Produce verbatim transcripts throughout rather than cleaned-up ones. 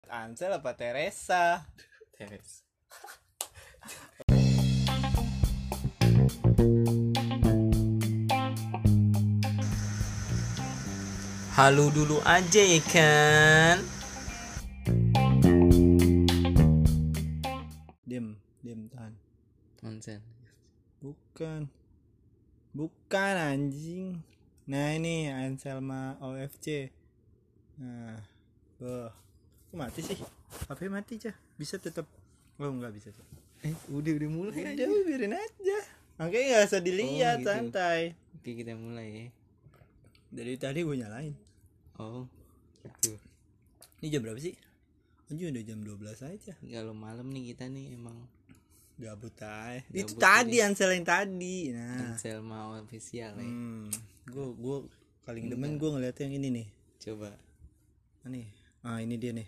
Ansel apa Teresa? Teresa. Halo dulu aja ya kan. Diam, diam tahan. Ansel. Bukan. Bukan anjing. Nah ini Anselma O F C. Nah, oh, kok mati sih? H P mati aja. Bisa tetap. Oh enggak bisa tuh. Eh udah udah mulai aja. Udah biarin aja. Makanya nggak usah dilihat, Oh, gitu. santai. Oke kita mulai ya. Dari tadi gue nyalain. Oh gitu. Ini jam berapa sih? Anjir udah jam dua belas aja. Kalau malam nih kita nih emang Gabut aja. Gabut Itu tadi ini. Ansel yang tadi. Nah. Ansel mau official ya. Hmm. Gue gue paling demen gue ngeliat yang ini nih. Coba. Nih. Ah ini dia nih.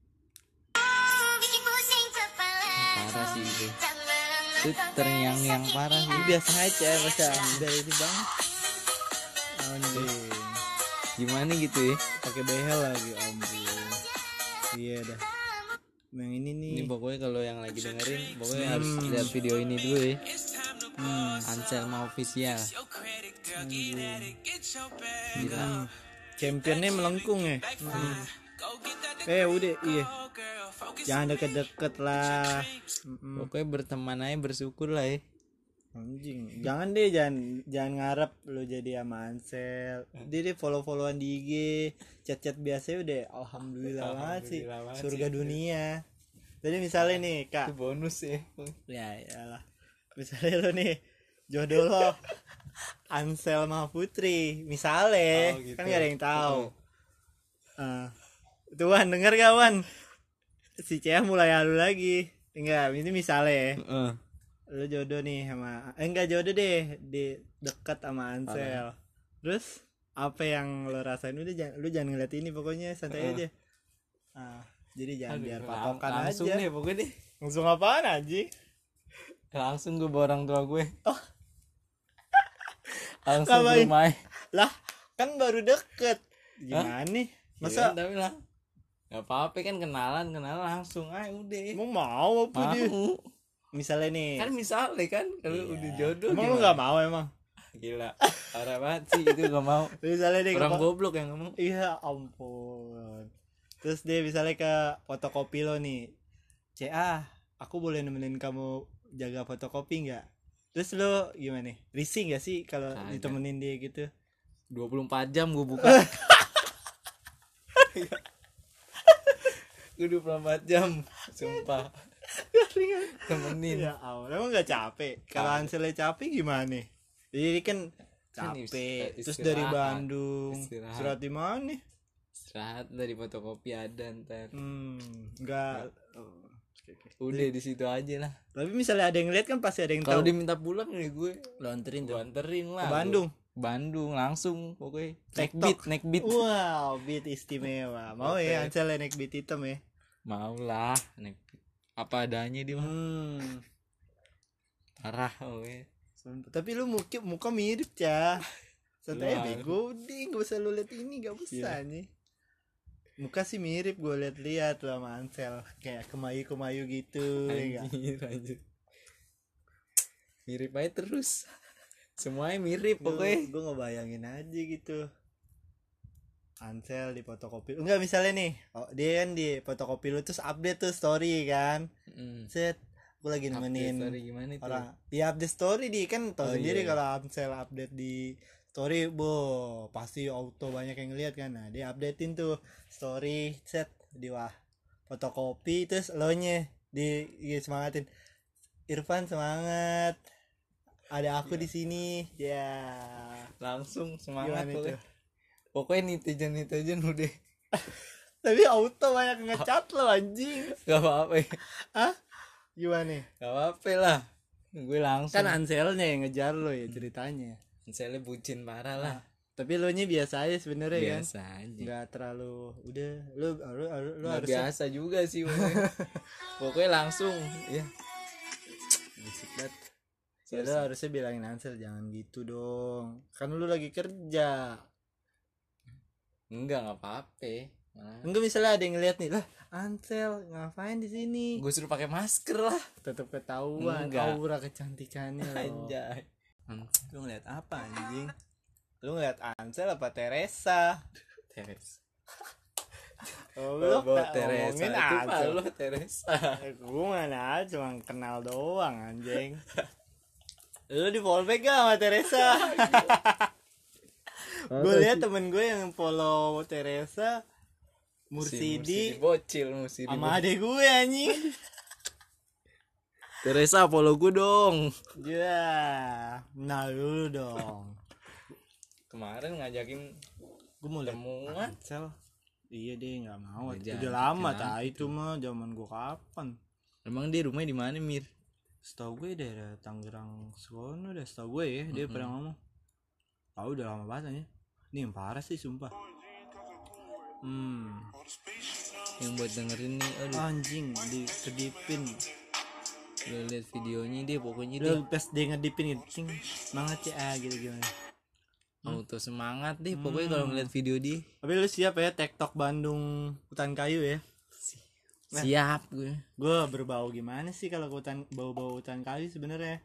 Parah sih itu. Itu terngiang-ngiang parah sih. Ini biasa aja, biasa. Udah itu banget. Anjing. Gimana gitu ya? Pakai behel lagi, ampun. Iya dah. Yang ini nih. Ini pokoknya kalau yang lagi dengerin pokoknya Hmm. harus lihat video ini dulu ya. Hmm. Ansel mau official. Gila. Hmm. Championnya melengkung ya. Hmm. Eh udah iya. Jangan deket-deket lah. Mm-mm. Pokoknya berteman aja bersyukur lah ya. Anjing. Jangan deh, jangan jangan ngarep lu jadi sama Ansel. Dia deh follow-followan di I G, chat-chat biasa udah alhamdulillah banget sih. Alhamdulillah banget Surga sih. dunia. Jadi misalnya nih, Kak. Itu bonus ya. Ya iyalah. Misalnya lu nih jodoh lo Ansel sama Putri, misalnya Oh, gitu. kan gak ada yang tahu. Uh, tuh Wan, denger gak Wan? Si Cia mulai halu lagi. Enggak, ini misalnya Heeh. lu jodoh nih sama eh, enggak jodoh deh di dekat sama Ansel. Terus apa yang lo rasain? Udah jangan lu jangan ngeliat ini pokoknya santai Uh. aja. Ah, jadi jangan Aduh, biar lang- patokan langsung aja. deh pokoknya deh. Langsung apaan anjing? Langsung gue bawa orang tua gue. Oh. Langsung ke Ngapain? rumah. Lah, kan baru deket. Gimana nih? Masa Masa tapi lah. Gak apa-apa kan kenalan kenalan langsung aja udah. emang mau apa dia? Mau. Misalnya nih. Kan misalnya kan kalau Iya. udah jodoh Emang lu gimana? gak mau emang? Gila. Parah banget sih itu gak mau. Misalnya nih Orang ke- goblok yang ngomong. Iya ampun. Terus dia misalnya ke fotokopi lo nih. C A, aku boleh nemenin kamu jaga fotokopi nggak? Terus lo gimana nih? Risih nggak sih kalau Kagak. ditemenin dia gitu? dua puluh empat jam gue buka. Gue dua puluh empat jam. Sumpah. Temenin. Ya Allah, emang nggak capek? Kalau Kagak. Anselnya capek gimana? Jadi kan Kan capek. ist- Terus dari istirahat. Bandung. Istirahat. Istirahat di mana nih? Istirahat dari fotokopi ada ntar. Hmm, nggak. Oh, oke, oke. Udah di situ aja lah. Tapi misalnya ada yang lihat kan pasti ada yang Kalau tahu. diminta pulang nih gue Lo anterin gue tuh. anterin Ke lah. Bandung. Bandung langsung pokoknya. Naik TikTok. beat, naik beat. Wow, beat istimewa. Mau ya Oke. Ansel naik beat hitam ya? Mau lah, naik beat. Apa adanya dia mah. Hmm. Parah oke. Tapi lu muka muka mirip ya. Santai Lah. bego, ding, gak usah lu lihat ini, gak usah Iya. nih. Muka sih mirip, gue liat-liat lo sama Ansel, kayak kemayu-kemayu gitu, ya nggak? Anjir, anjir. Mirip aja terus. Semuanya mirip pokoknya. Gue ngebayangin aja gitu. Ansel di fotokopi, enggak misalnya nih, oh, dia kan di fotokopi lu terus update tuh story kan, Mm. set, gue lagi Update nemenin story gimana itu? orang, ya update story di kan tau Oh, sendiri iya. kalau Ansel update di story, bo pasti auto banyak yang ngeliat kan, nah dia updatein tuh story, set di wah fotokopi terus lo nya di ya, semangatin, Irfan semangat, ada aku Iya. di sini, ya Langsung semangat gimana pokoknya. itu? Pokoknya netizen netizen udah Tapi auto banyak ngecat lo anjing, gak apa-apa ya. ah gimana? Gak apa-apa lah. Gue langsung. Kan Anselnya yang ngejar lo ya ceritanya. Anselnya bucin parah lah. Tapi lo nya biasa aja sebenarnya kan. Biasa aja. Nggak terlalu udah lu lu lu, lu Nggak harus biasa juga sih pokoknya. Pokoknya langsung ya. berisik banget. Ya lu harusnya bilangin Ansel jangan gitu dong. Kan lu lagi kerja. Enggak, nggak apa-apa. Nah, Enggak, misalnya ada yang ngeliat nih, lah Ansel ngapain di sini? gue suruh pakai masker lah. Tetap ketahuan Enggak. aura kecantikannya loh. Anjay. Hmm, Lu ngeliat apa anjing? Lu ngeliat Ansel apa Teresa? Teresa. Oh, Oh, lu bawa tak Teresa ngomongin itu Ansel. lu Teresa. Gue mana cuma kenal doang anjing. Lu di fallback gak sama Teresa? Gue lihat temen gue yang follow Teresa, Mursidi, bocil Mursidi sama adek gue anjing. Teresa follow gue dong. Ya, nah dulu dong. Kemarin ngajakin Gue mau liat temuan. Ansel. Iya deh, nggak mau. Ya, Udah jangan, lama jangan. tak itu mah zaman gue kapan? Emang dia rumahnya di mana, Mir? Setahu gue daerah Tangerang sono deh, setahu gue ya, dia Mm-mm. pernah ngomong. Tahu udah lama banget aja. Ini yang parah sih sumpah. Hmm, Yang buat dengerin nih, aduh, anjing dikedipin. lu lihat videonya dia pokoknya dia Udah pas dia ngedipin gitu, cing, semangat ya ah, gitu gimana. auto semangat deh pokoknya kalau ngeliat video dia. Tapi lu siap ya TikTok Bandung Hutan Kayu ya? Nah. Siap gue. Gue berbau gimana sih kalau ke hutan, bau-bau hutan kayu sebenarnya?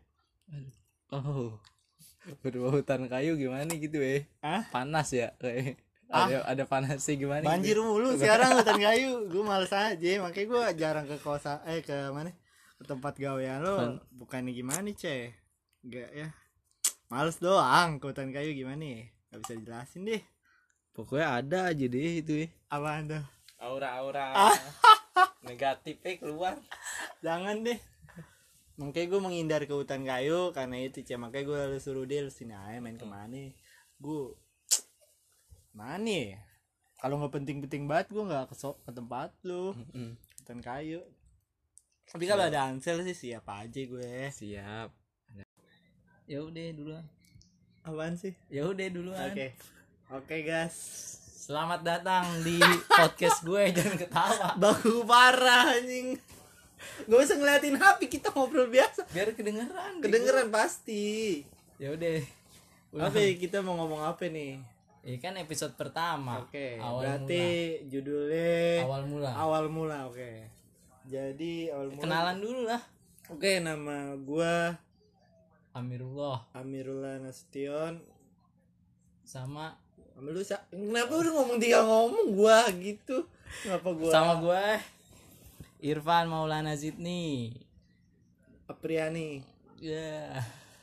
Oh, berbau hutan kayu gimana gitu eh? Ah? Panas ya kayak. Ah? Ada ada panasnya gimana? Banjir gitu? mulu sekarang hutan kayu. Gue males aja, makanya gue jarang ke kosan, eh ke mana? Ke tempat gawean lo. Kan- Bukannya gimana ceh? Enggak ya. Males doang ke hutan kayu gimana ya? Gak bisa dijelasin deh. Pokoknya ada aja deh itu eh. Apaan tuh? Aura-aura Ah. negatifnya keluar. Jangan deh. Makanya gue menghindar ke hutan kayu karena itu ceh. Makanya gue lalu suruh dia lu sini aja main kemana? Gue mana ya? Kalau nggak penting-penting banget gue nggak ke, so- ke tempat lu Mm-mm. hutan kayu. Tapi kalau ada Ansel sih siap aja gue. Siap. Ya udah duluan. Apaan sih? Ya udah duluan. Oke. Oke guys. Selamat datang di podcast gue, jangan ketawa. Baku parah anjing. Gak usah ngeliatin H P, kita ngobrol biasa. Biar kedengeran. Kedengeran pasti. Ya udah. Apa ya, kita mau ngomong apa nih? Ini kan episode pertama. Oke. Awal Berarti mula. judulnya Awal mula. Awal mula, oke. Jadi awal mula. Kenalan dulu lah. Oke, nama gua Amirullah Amirullah Nasution. sama Sama lu sa- kenapa udah ngomong tinggal ngomong gua gitu? Kenapa gua sama gue Irfan Maulana Zidni. Apriani? Ya.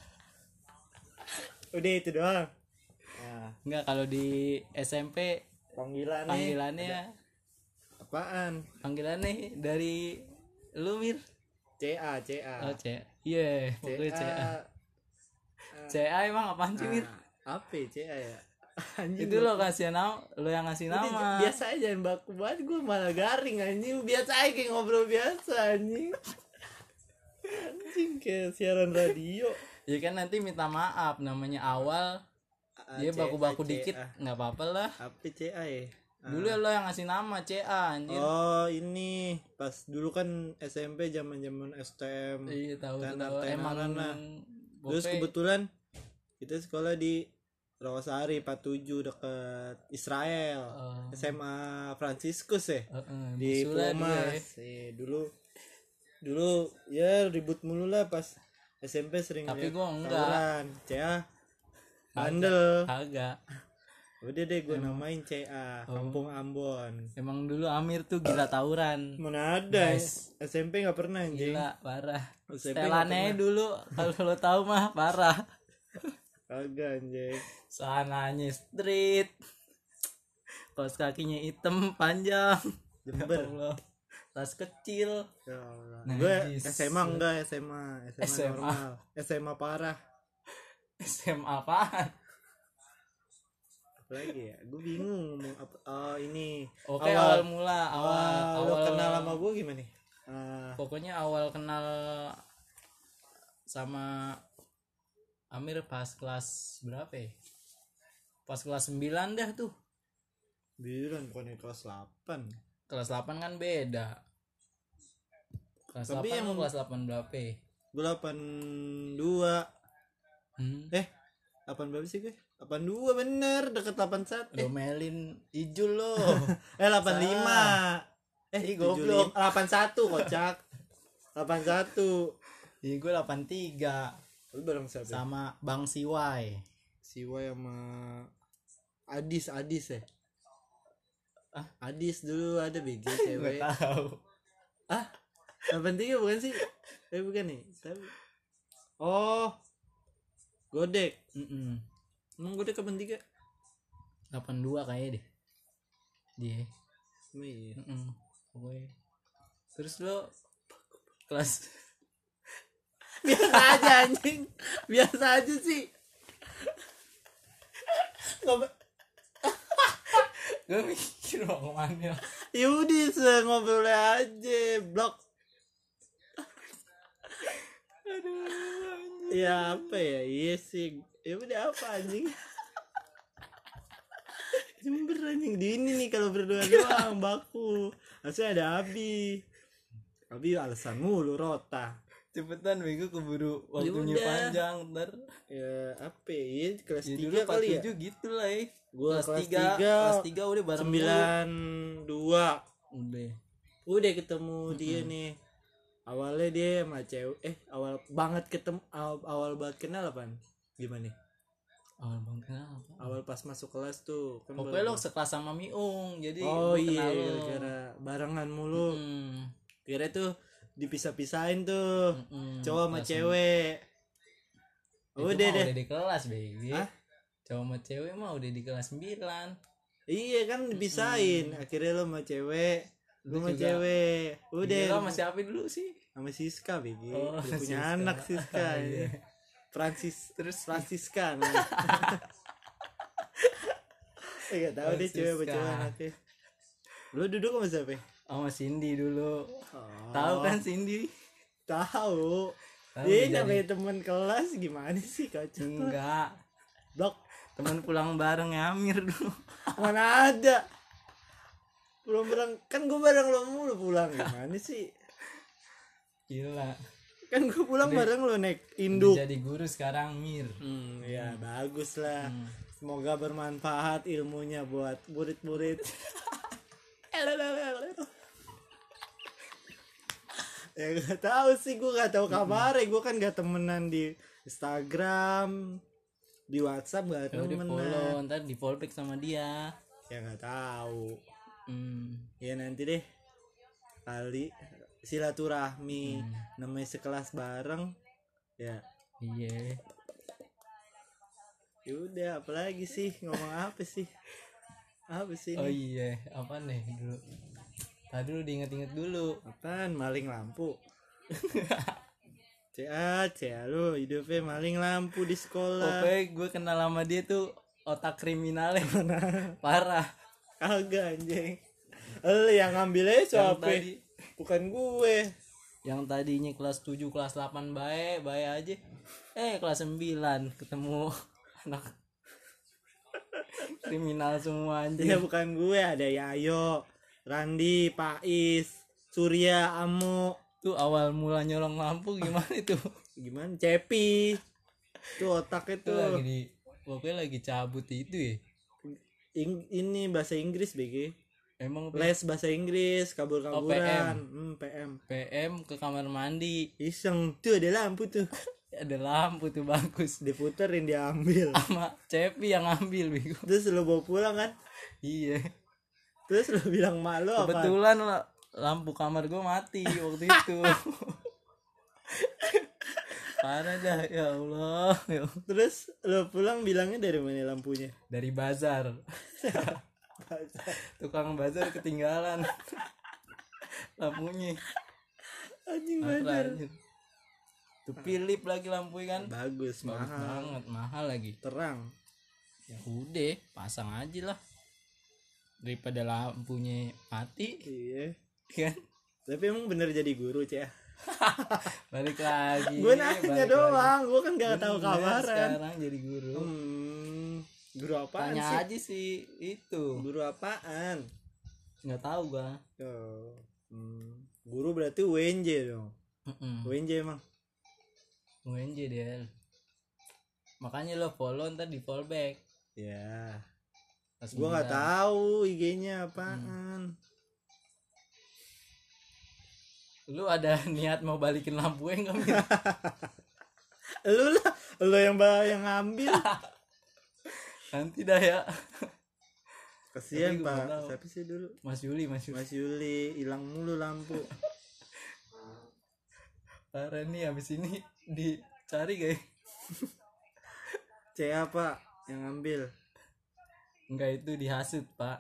Udah itu doang. Nah, Enggak, kalau di S M P panggilannya panggilannya apaan? panggilannya dari lu Mir. C A C A. Oh, C. Iya, pokoknya C A. C A emang apaan sih, Mir? Ah, apa ya, C A ya? Anjing. Itu lo kasih nama, lo yang ngasih Udah, nama. biasa aja, jangan baku banget, gue malah garing anjing. Biasa aja kayak ngobrol biasa anjing. Anjing kayak siaran radio. Ya kan nanti minta maaf, namanya awal. A- Dia C A, baku-baku C A. dikit, nggak apa-apa lah. Apa C A ya? Dulu ya lo yang ngasih nama C A anjir. Oh ini pas dulu kan S M P zaman zaman S T M. Iya tahu tenar- tahu emang tenaran lah. Terus pokoknya- kebetulan kita sekolah di Rawasari empat puluh tujuh dekat Israel. Oh. S M A Franciscus ya. Heeh, Di musuh lah dulu ya. Pumas. Eh, dulu dulu ya ribut mulu lah pas S M P sering Tapi liat gua enggak. tawuran. C A bandel. Agak. Udah deh gue namain C A Oh. Kampung Ambon. Emang dulu Amir tuh gila tawuran. Mana ada Guys. S M P nggak pernah anjing. Gila parah. S M P nggak Setelannya dulu kalau lo tahu mah parah. Kagak anjing. Sananya street. Kaos kakinya hitam panjang. Jember. Ya Allah. Tas kecil. Ya Allah. Najis. Gue S M A enggak, S M A, S M A, S M A. normal. S M A parah. S M A apaan? Apa lagi ya? Gue bingung ngomong apa. Oh, ini. Oke, awal, mula awal awal, awal lo kenal sama gue gimana nih? Ah, Pokoknya awal kenal sama Amir pas kelas berapa ya? Pas kelas sembilan dah tuh. bilang bukan kelas delapan. Kelas delapan kan beda. Kelas Tapi delapan yang- lu kelas delapan berapa ya? Gue delapan dua. Hmm? Eh, delapan berapa sih gue? delapan dua bener, deket delapan satu. Eh, Domelin Ijul lo. eh delapan lima. Eh Ih, tujuh goblok. lima. delapan satu kocak. delapan satu. Iya gue delapan tiga Lu bareng siapa? sama Bang Siwai. Siwa sama Adis, Adis ya. Ah? Adis dulu ada B G Gue cewek. tahu. Ah, delapan tiga bukan sih? Eh bukan nih. Siapa? Oh, Godek. Mm-mm. Emang Godek kapan tiga? delapan dua kayaknya deh. Dia. Oh, iya. Mm-mm. Pokoknya. Terus lo kelas Biasa aja anjing. Biasa aja sih. Nggak be- gue mikir mau kemana. Yaudah se ngobrol aja blok. Aduh. Ya apa ya? Iya sih. Ya udah apa anjing? Jember anjing di ini nih kalau berdua doang baku. Harusnya ada Abi. Abi alasan mulu rota. Cepetan bego keburu waktunya Yaudah. panjang ntar. Ya apa ya? Kelas Ya dulu tiga kali ya? empat tujuh gitu lah ya. Gua kelas kelas tiga, tiga, kelas tiga udah bareng sembilan dua. mulu. Udah. Udah ketemu dia nih. Awalnya dia sama cewek. Eh awal banget ketemu. Awal, awal banget kenal apaan? Gimana nih? Awal bang kenapa? Awal pas masuk kelas tuh kan Pokoknya baru- lo sekelas sama Miung, jadi Oh gua iya kenal lo. gara barengan mulu. Hmm. Kira tuh dipisah-pisahin tuh. Mm-mm. Cowok sama Kelas cewek. Itu Udah mah deh. udah di kelas baby. Hah? Cowok sama cewek mah udah di kelas sembilan. Iya kan dipisahin. Akhirnya lo sama cewek, Lu lu sama juga. cewek. Udah Gila, sama siapa dulu sih? sama Siska B G. Oh, Dia punya Siska. anak Siska. Iya. ya. Francis Terus Francisca. Enggak tahu deh cewek apa Francisca. cowok anaknya. Lu duduk sama siapa? sama Cindy dulu. Oh, Tahu kan Cindy? Tahu. Tahu Dia udah namanya teman kelas gimana sih kacau. Enggak. Blok Teman pulang bareng Amir dulu. mana ada. Belum bareng kan gue bareng lo mulu pulang gimana sih? Gila. Kan gue pulang Udah- bareng lo naik Udah induk. jadi guru sekarang Mir. Hmm, ya bagus lah. Hmm. Semoga bermanfaat ilmunya buat murid-murid. Ya gak tahu sih, gue gak tahu kabarnya. Gue kan gak temenan di Instagram, di WhatsApp gak Ya udah follow, temenan. ntar di follow back sama dia. Ya gak tahu. Hmm. Ya nanti deh kali silaturahmi namanya sekelas bareng. Ya Iya. yaudah apalagi sih ngomong apa sih? Apa sih Oh ini? iya, apa nih dulu? Tadi dulu diinget-inget dulu. Apaan maling lampu? Cia, cia lu hidupnya maling lampu di sekolah. Pokoknya gue kenal sama dia tuh otak kriminalnya parah. Kagak anjing. Lu yang ngambilnya Yang siapa? tadi, Bukan gue. yang tadinya kelas tujuh, kelas delapan baik, baik aja. Eh, kelas sembilan ketemu anak kriminal semua Ya anjing. bukan gue, ada Yayo, Randi, Pais, Surya, Amo. Tuh awal mula nyolong lampu gimana itu? Gimana? Cepi. Tuh otaknya Tuh tuh. lagi di pokoknya lagi cabut itu ya. Ing- ini bahasa Inggris B G. Emang Les bahasa Inggris, kabur-kaburan. Hmm, P M. P M ke kamar mandi. Iseng tuh ada lampu tuh. Ada lampu tuh bagus. Diputerin diambil. Sama Cepi yang ngambil bego. Terus lu bawa pulang kan? Iya. Terus lu bilang malu apa? Kebetulan lah, lampu kamar gue mati waktu itu. Parah dah, ya Allah. Ya Allah. Terus lu pulang bilangnya dari mana lampunya? Dari bazar. Tukang bazar ketinggalan lampunya. Anjing Parah, bener. anjir. Tuh Philip lagi lampunya kan. Bagus, Bagus mahal. banget, mahal lagi. Terang. Ya udah, pasang aja lah. Daripada lampunya mati, Iya. kan? Tapi emang bener jadi guru, Cek. Balik lagi. Gue nanya balik doang, lagi. gue kan gak tahu Bener, kabaran. Sekarang jadi guru. Hmm, guru apaan Tanya sih? aja sih itu. Guru apaan? Nggak tahu gua. Oh, hmm. Guru berarti U N J dong. Heeh. U N J emang. U N J dia. Makanya lo follow ntar di follow back. Ya, Kelas gua nggak sembilan. tahu I G-nya apaan. Lu ada niat mau balikin lampu enggak, Mir? Lu lah, lu yang ba- yang ngambil. Nanti dah ya. Kasihan Tapi gua Pak. nggak tahu. Siapa sih dulu? Mas Yuli, Mas Yuli. Mas Yuli hilang mulu lampu. Parah nih, habis ini dicari guys. C A Pak yang ngambil. Enggak, itu dihasut, Pak.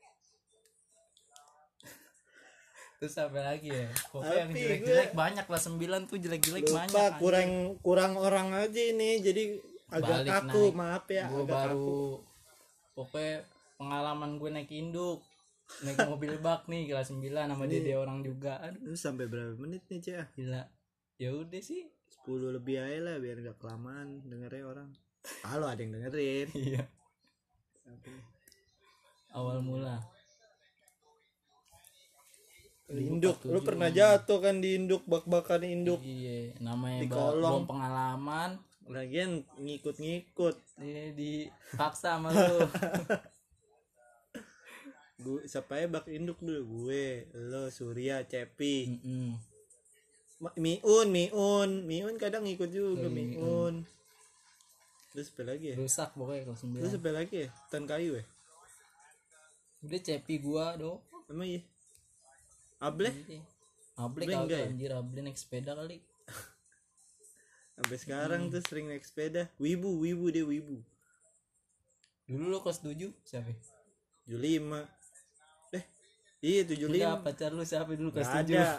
Terus apa lagi ya? Pokoknya yang Tapi jelek-jelek gue- banyak lah, sembilan tuh jelek-jelek banyak. Lupa anjing. kurang kurang orang aja ini jadi agak Balik kaku, naik. maaf ya, Gue agak kaku. baru pokoknya pengalaman gue naik induk, naik mobil bak nih kelas sembilan sama Ini- dede orang juga. Aduh, Lu sampai berapa menit nih, Cah? gila. Ya udah sih. sepuluh lebih aja lah biar gak kelamaan dengernya orang. Kalau ada yang dengerin. Iya. Awal mula. Di induk, lu pernah jatuh kan di induk, bak-bakan induk. Iya, namanya Di ba- kolong. belum pengalaman. Lagian ngikut-ngikut. Ini dipaksa sama lu. Gue siapa ya bak induk dulu? Gue, lo, Surya, Cepi. Mm-mm. Ma- Miun, Miun, Miun kadang ngikut juga, Oh, iya, Miun. Terus apa lagi ya? Rusak pokoknya kelas Terus sembilan. apa lagi ya? Tan kayu ya? Udah cepi gua do. Emang iya? Ableh? Able Able enggak kagak ya? anjir, Able naik sepeda kali. Sampai sekarang tuh sering naik sepeda. Wibu, wibu dia wibu. Dulu lo kelas tujuh siapa? tujuh puluh lima. Eh, iya tujuh puluh lima. Enggak, pacar lu siapa dulu kelas Gak tujuh? ada.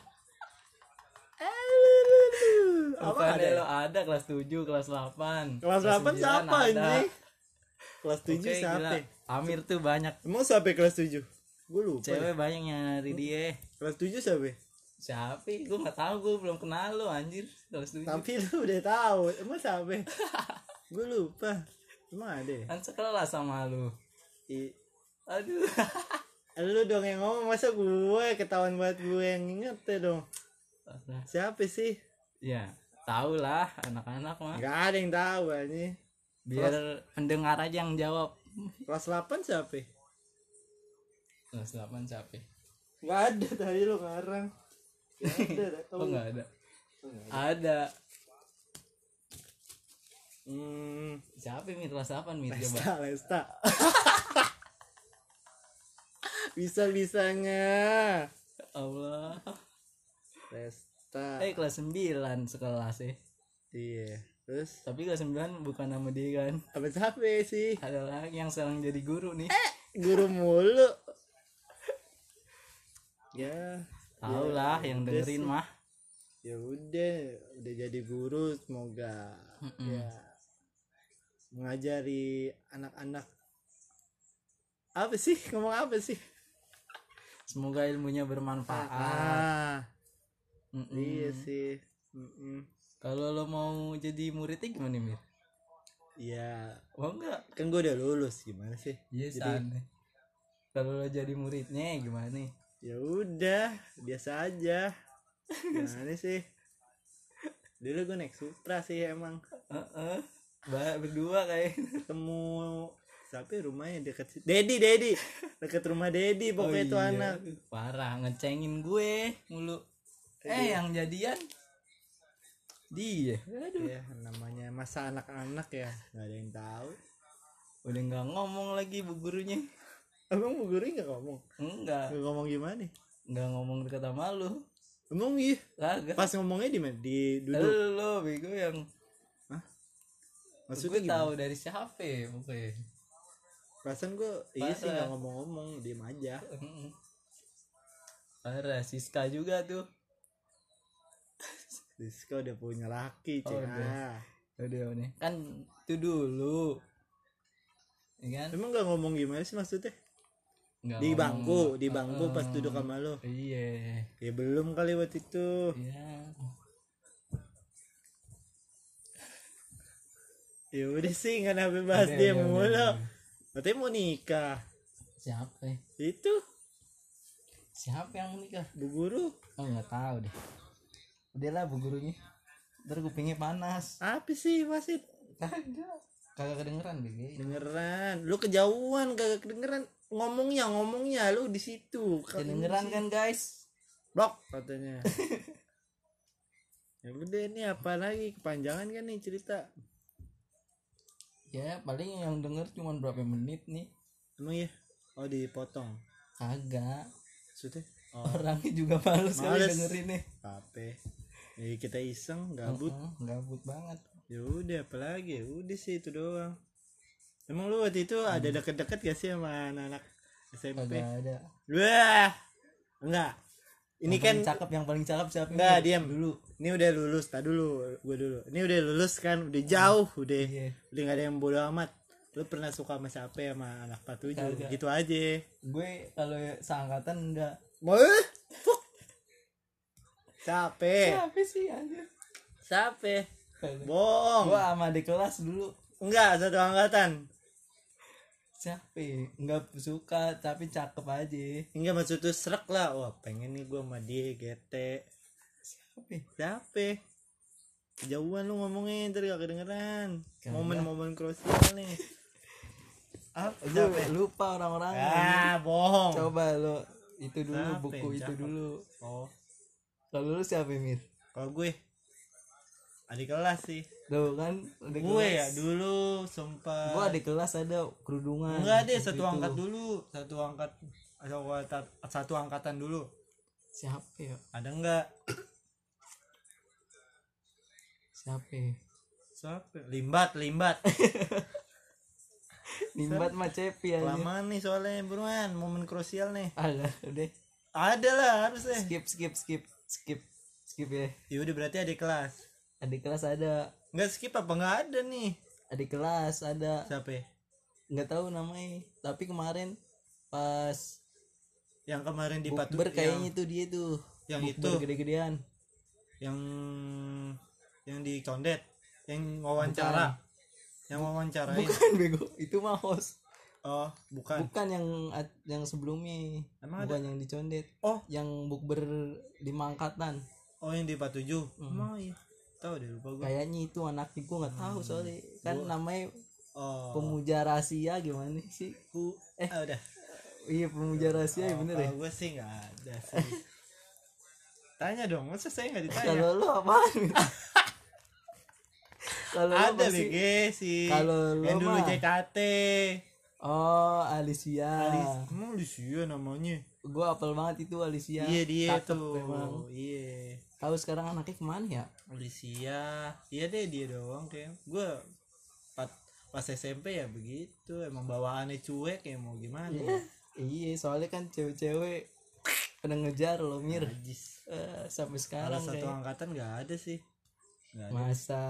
Eh, apa Bukan ada? lo ada kelas tujuh, kelas delapan. Kelas delapan sembilan siapa ada. anjing? Kelas tujuh Oke, siapa? gila. Amir tuh banyak Emang siapa kelas tujuh? Gue lupa. cewek deh. banyak yang nyari dia. Kelas tujuh siapa? Siapa? Gue nggak tahu, gue belum kenal lo anjir kelas tujuh. Tapi lu udah tahu. Emang siapa? Gue lupa. Emang ada ya? Kan sekelas sama lu. I- Aduh. Lu dong yang ngomong, masa gue ketahuan banget gue yang inget ya dong. Siapa sih? Ya, tahu lah anak-anak mah. Gak ada yang tahu anjing. Biar pendengar aja yang jawab. Kelas delapan siapa? Kelas delapan siapa? Gak ada tadi lu ngarang. Gak ada. dah. Oh nggak ada. Oh, nggak ada. Ada. Hmm, Siapa Mir kelas delapan Mir coba? Lesta, Lesta. Bisa-bisanya. Allah. Lesta. Eh kelas sembilan sekelas ya. Iya. Terus Tapi kelas sembilan bukan nama dia kan. apa siapa sih? Ada lagi yang sekarang jadi guru nih. Guru mulu. Ya. Tahu ya, lah yang udah dengerin sih. mah. Ya udah, udah jadi guru, semoga Mm-mm. ya mengajari anak-anak. Apa sih? Ngomong apa sih? Semoga ilmunya bermanfaat. Ah, Mm-mm. iya sih. Mm-mm. Kalau lo mau jadi muridnya gimana Mir? Ya, Oh enggak. kan gue udah lulus, gimana sih? Iya Jadi- sana. Kalau lo jadi muridnya gimana nih? Ya udah, biasa aja. Gimana sih? Dulu gue naik Supra sih emang. Heeh. Ba- berdua kayak. Ketemu siapa ya rumahnya deket situ. Dedi, Dedi. Deket rumah Dedi pokoknya Oh itu iya. anak. Parah ngecengin gue mulu. Eh yang jadian dia. Aduh. Ya, namanya masa anak-anak ya, nggak ada yang tahu. Udah nggak ngomong lagi bu gurunya. Emang bu guru nggak ngomong? Enggak. Nggak ngomong gimana? Nggak ngomong deket sama lu. Emang iya. Kagak. Pas ngomongnya di mana? Di duduk. Lo bego yang Maksudnya gue gimana? tahu dari siapa ya pokoknya. Perasaan gue iya sih Parah. nggak ngomong-ngomong, diem aja. Mm-mm. Parah Siska juga tuh. Rizka udah punya laki, Oh, Cek. udah. Ah. Udah nih. Kan itu dulu. Ya kan? Emang nggak ngomong gimana sih maksudnya? Nggak Di ngomong. bangku, di bangku pas Heeh. duduk sama lo. Iya. Ya belum kali waktu itu. Iya. Ya udah sih nggak nabi bahas Udah, dia udah, mulu. udah, udah. Katanya mau nikah. Siapa ya? Itu Siapa yang menikah? bu guru. Oh nggak tahu deh. Udahlah bu gurunya. Ntar kupingnya panas. Apa sih wasit? Kagak. Kagak kedengeran Bege. Dengeran. Lu kejauhan kagak kedengeran. Ngomongnya ngomongnya lu di situ. Kedengeran kan guys? Blok katanya. Ya udah ini apa lagi kepanjangan kan nih cerita. Ya paling yang denger cuma berapa menit nih. Emang ya? Oh dipotong. Kagak. Maksudnya? Oh. Orangnya juga males kali Males. dengerin nih. Apa? Jadi kita iseng gabut. Uh-uh, gabut banget. Ya udah apalagi ya udah sih itu doang. Emang lu waktu itu ada deket-deket gak sih sama anak-anak S M P? Kagak ada. Wah. Enggak. Ini Yang kan paling cakep, yang paling cakep siapa? enggak Mir? diam Dulu. Ini udah lulus, tak dulu, gue dulu. Ini udah lulus kan, udah jauh, udah, Iya. udah gak ada yang bodo amat. Lu pernah suka sama siapa ya sama anak empat tujuh? Kagak. Gitu aja. Gue kalau seangkatan enggak. Mau? Siapa? Siapa sih anjir? Siapa? Kagak. Bohong. Gua sama di kelas dulu. Enggak, satu angkatan. Siapa? Enggak suka tapi cakep aja. Enggak maksud tuh serak lah. Wah pengen nih gue sama dia G T. Siapa? Siapa? Kejauhan lu ngomongin ntar gak kedengeran. Kagak. Momen-momen krusial nih. Apa? Gue Siapa? lupa orang-orang. Ah bohong. Coba lo itu dulu Siapa buku yang itu cakep? dulu. Oh Kalau lu siapa Mir? kalau gue adik kelas sih. Tuh kan adik Gue kelas. ya dulu sumpah. Gua adik kelas ada kerudungan. Enggak deh Waktu satu itu. angkat dulu. Satu angkat satu angkatan, satu angkatan dulu. Siapa ya? Ada enggak? Siapa? ya? Siapa? Limbat, limbat. Nimbat mah Cepi aja. Kelamaan nih soalnya buruan momen krusial nih. Ada, udah. Ada lah harus deh. Skip, skip, skip, skip, skip ya. Ya udah berarti adik kelas. Adik kelas ada. Enggak skip apa enggak ada nih? Adik kelas ada. Siapa? Nggak tahu namanya. Tapi kemarin pas Yang kemarin di Patu bukber kayaknya itu dia tuh. yang Bukber itu gede-gedean. yang yang di Condet, yang wawancara. Yang wawancarain. Bukan bego, itu mah host. Oh, bukan. Bukan yang yang sebelumnya. Emang Bukan yang di Condet. Oh, Yang bukber di Mangkatan. oh yang di Patujuh. Hmm. Emang iya. Tahu deh lupa gua. Kayaknya itu anaknya gue nggak tahu soalnya kan Gua- namanya Oh. pemuja rahasia gimana sih? Ku Eh. ah, udah. Iya pemuja rahasia ya Oh, bener ya. kalau gue sih nggak ada sih. Tanya dong, masa saya nggak ditanya? Kalau lu apaan? Kalau lu Ada pasti- B G sih. Kalau lu yang dulu mah- J K T. Oh Alicia. Alis, emang Alicia namanya? Gue apel banget itu Alicia. Iya dia Cakep tuh. memang. Iya. Tahu sekarang anaknya kemana ya? Alicia. Iya deh dia doang kayak. Gue pas, pas S M P ya begitu. Emang bawaannya cuek ya mau gimana? Iya. Iya soalnya kan cewek-cewek pada ngejar lo Mir. Najis. Eh, sampai Kalau sekarang satu kayak angkatan nggak ada sih. Nggak ada. masa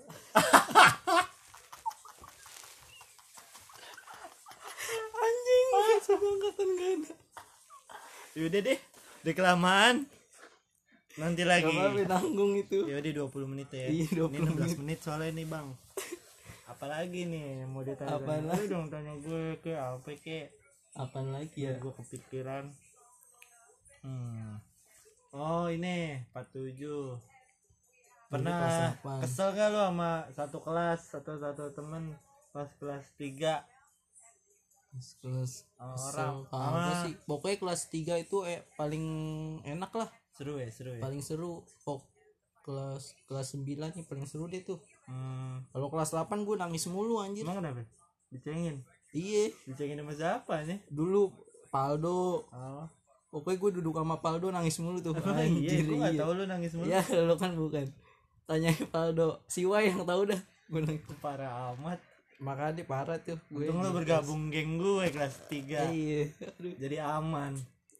anjing satu angkatan gak ada. Yaudah deh. Udah kelamaan. Nanti lagi. Gak apa-apa nanggung itu. Ya udah dua puluh menit ya. Iya, dua Ini puluh enam belas menit soalnya nih, Bang. Apalagi nih mau ditanya? Apaan Lu dong tanya gue ke apa ke? Apaan lagi ya? Gue kepikiran. Hmm. Oh, ini empat puluh tujuh. kelas Pernah delapan. kesel gak lu sama satu kelas atau satu temen pas kelas tiga? Kelas Orang kesel apa sama sih? Pokoknya kelas tiga itu eh paling enak lah, seru ya, seru ya. paling seru. Pok kelas kelas sembilan nih paling seru deh tuh. Hmm. Kalau kelas delapan gue nangis mulu anjir. Emang kenapa? Dicengin. Iya, Dicengin sama siapa nih? dulu Paldo. Oh. Pokoknya gue duduk sama Paldo nangis mulu tuh. Emang iya, gue gak iya. tahu lu nangis mulu. Iya, lo kan bukan. Tanya Paldo, Siwa yang tahu dah. Gue nangis. Parah amat. Makanya parah tuh. Gue Untung lu di bergabung geng gue kelas kelas- tiga. Iya. Aduh. Jadi aman.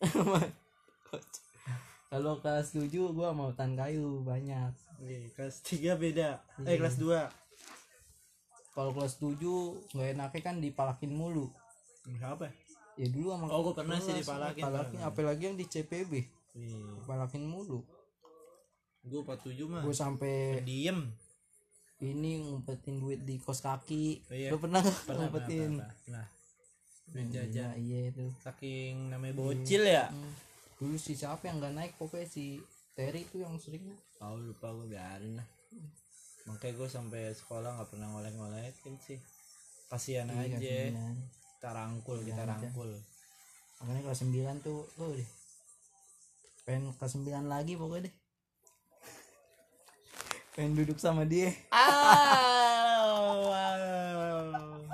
Kalau kelas tujuh gue mau hutan kayu banyak. Oke, kelas tiga beda. Iya. Eh kelas dua. Kalau kelas tujuh nggak enaknya kan dipalakin mulu. Apa? Ya dulu sama Oh, gua pernah sih kelas, dipalakin, dipalakin, pernah. apalagi yang di C P B Iya. dipalakin mulu. Gue empat puluh tujuh mah. Gue sampai Diem. ini ngumpetin duit di kos kaki. Oh, iya. Lo pernah nggak Pernah, ngumpetin? pernah, pernah. Duit Iya, jajan. iya itu. Saking namanya bocil ya. Hmm. Dulu si siapa yang nggak naik pokoknya si Terry itu yang sering. Oh lupa gue biarin lah. makanya gue sampai sekolah nggak pernah ngoleh-ngolehin sih, kasihan Iya, aja. kelas sembilan. Kita rangkul kita Iya, rangkul Makanya kelas sembilan tuh oh deh pengen kelas sembilan lagi pokoknya deh, pengen duduk sama dia. ah wow.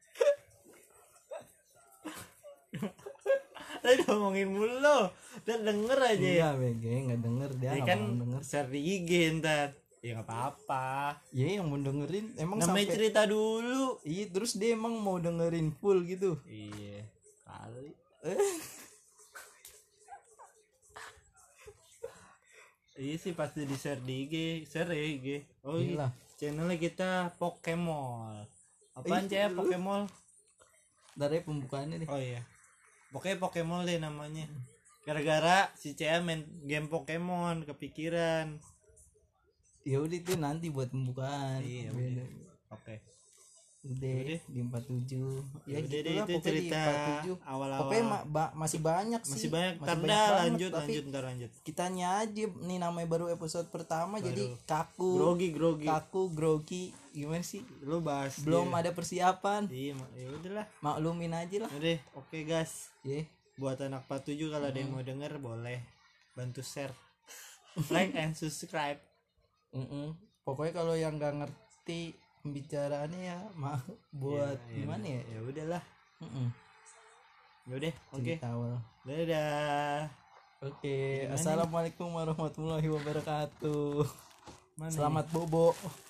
Tadi ngomongin mulu lo, udah denger aja ya. Enggak bege nggak denger dia Ya nggak kan mau denger. share di I G ntar. Ya nggak apa-apa. Ya yang mau dengerin emang Namanya sampai cerita dulu. iya terus dia emang mau dengerin full gitu. Iya kali. Iya sih pasti di share di I G, share ya I G. Oh iya. Iyalah. Channelnya kita Pokemon. Apaan Ih, cah lu. Pokemon? Dari pembukaannya deh. Oh iya. Pokoknya Pokemon deh namanya. Gara-gara si Cea main game Pokemon kepikiran. Ya udah itu nanti buat pembukaan. Iya, Beda. Oke. Udah Udah. di empat puluh tujuh. Ya Udah gitu deh, lah itu pokoknya di cerita empat puluh tujuh. awal-awal. Pokoknya ma- ba- masih banyak sih. Masih banyak. Ntar banyak dah banget, lanjut tapi lanjut ntar lanjut. kitanya aja nih namanya baru episode pertama Baru. jadi kaku. Grogi grogi. Kaku, grogi. Gimana sih? Lu bahas Belum dia. ada persiapan. Iya, mak- ya udahlah. Maklumin aja lah. Udah, oke guys. Ya. Buat anak empat puluh tujuh kalau ada yang mau denger boleh bantu share. Like and subscribe. Mm-mm. Pokoknya kalau yang nggak ngerti pembicaraannya ya mah buat Ya, ya, gimana ya? Ya udahlah. Mm-mm. Ya udah, oke. Cerita awal. Dadah. Oke, Gimana assalamualaikum warahmatullahi wabarakatuh. Mana Selamat bobo.